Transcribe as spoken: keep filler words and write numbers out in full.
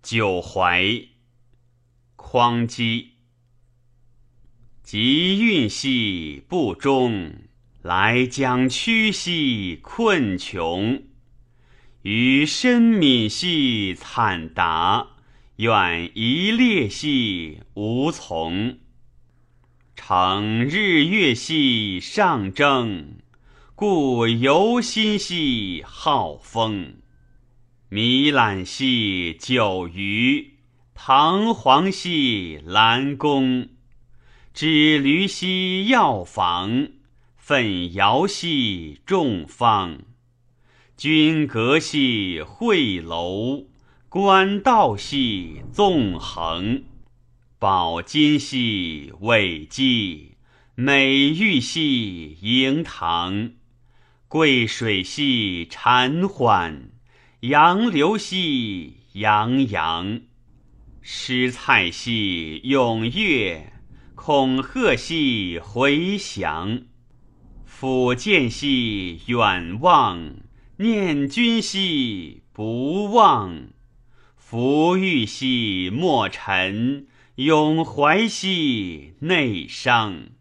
九怀。匡基。及运兮不忠，来将屈兮困穷。余深悯兮惨达，愿一列兮无从。乘日月兮上征，故游心兮好风。弥览兮九余，彷徨兮兰宫。止驴兮药房，奋摇兮众方。君阁兮惠楼，官道兮纵横。宝金兮伟基，美玉兮盈堂。贵水兮潺缓，杨流兮洋洋。诗菜兮踊跃，恐吓兮回翔。抚见兮远望，念君兮不忘。福欲兮莫陈，永怀兮内伤。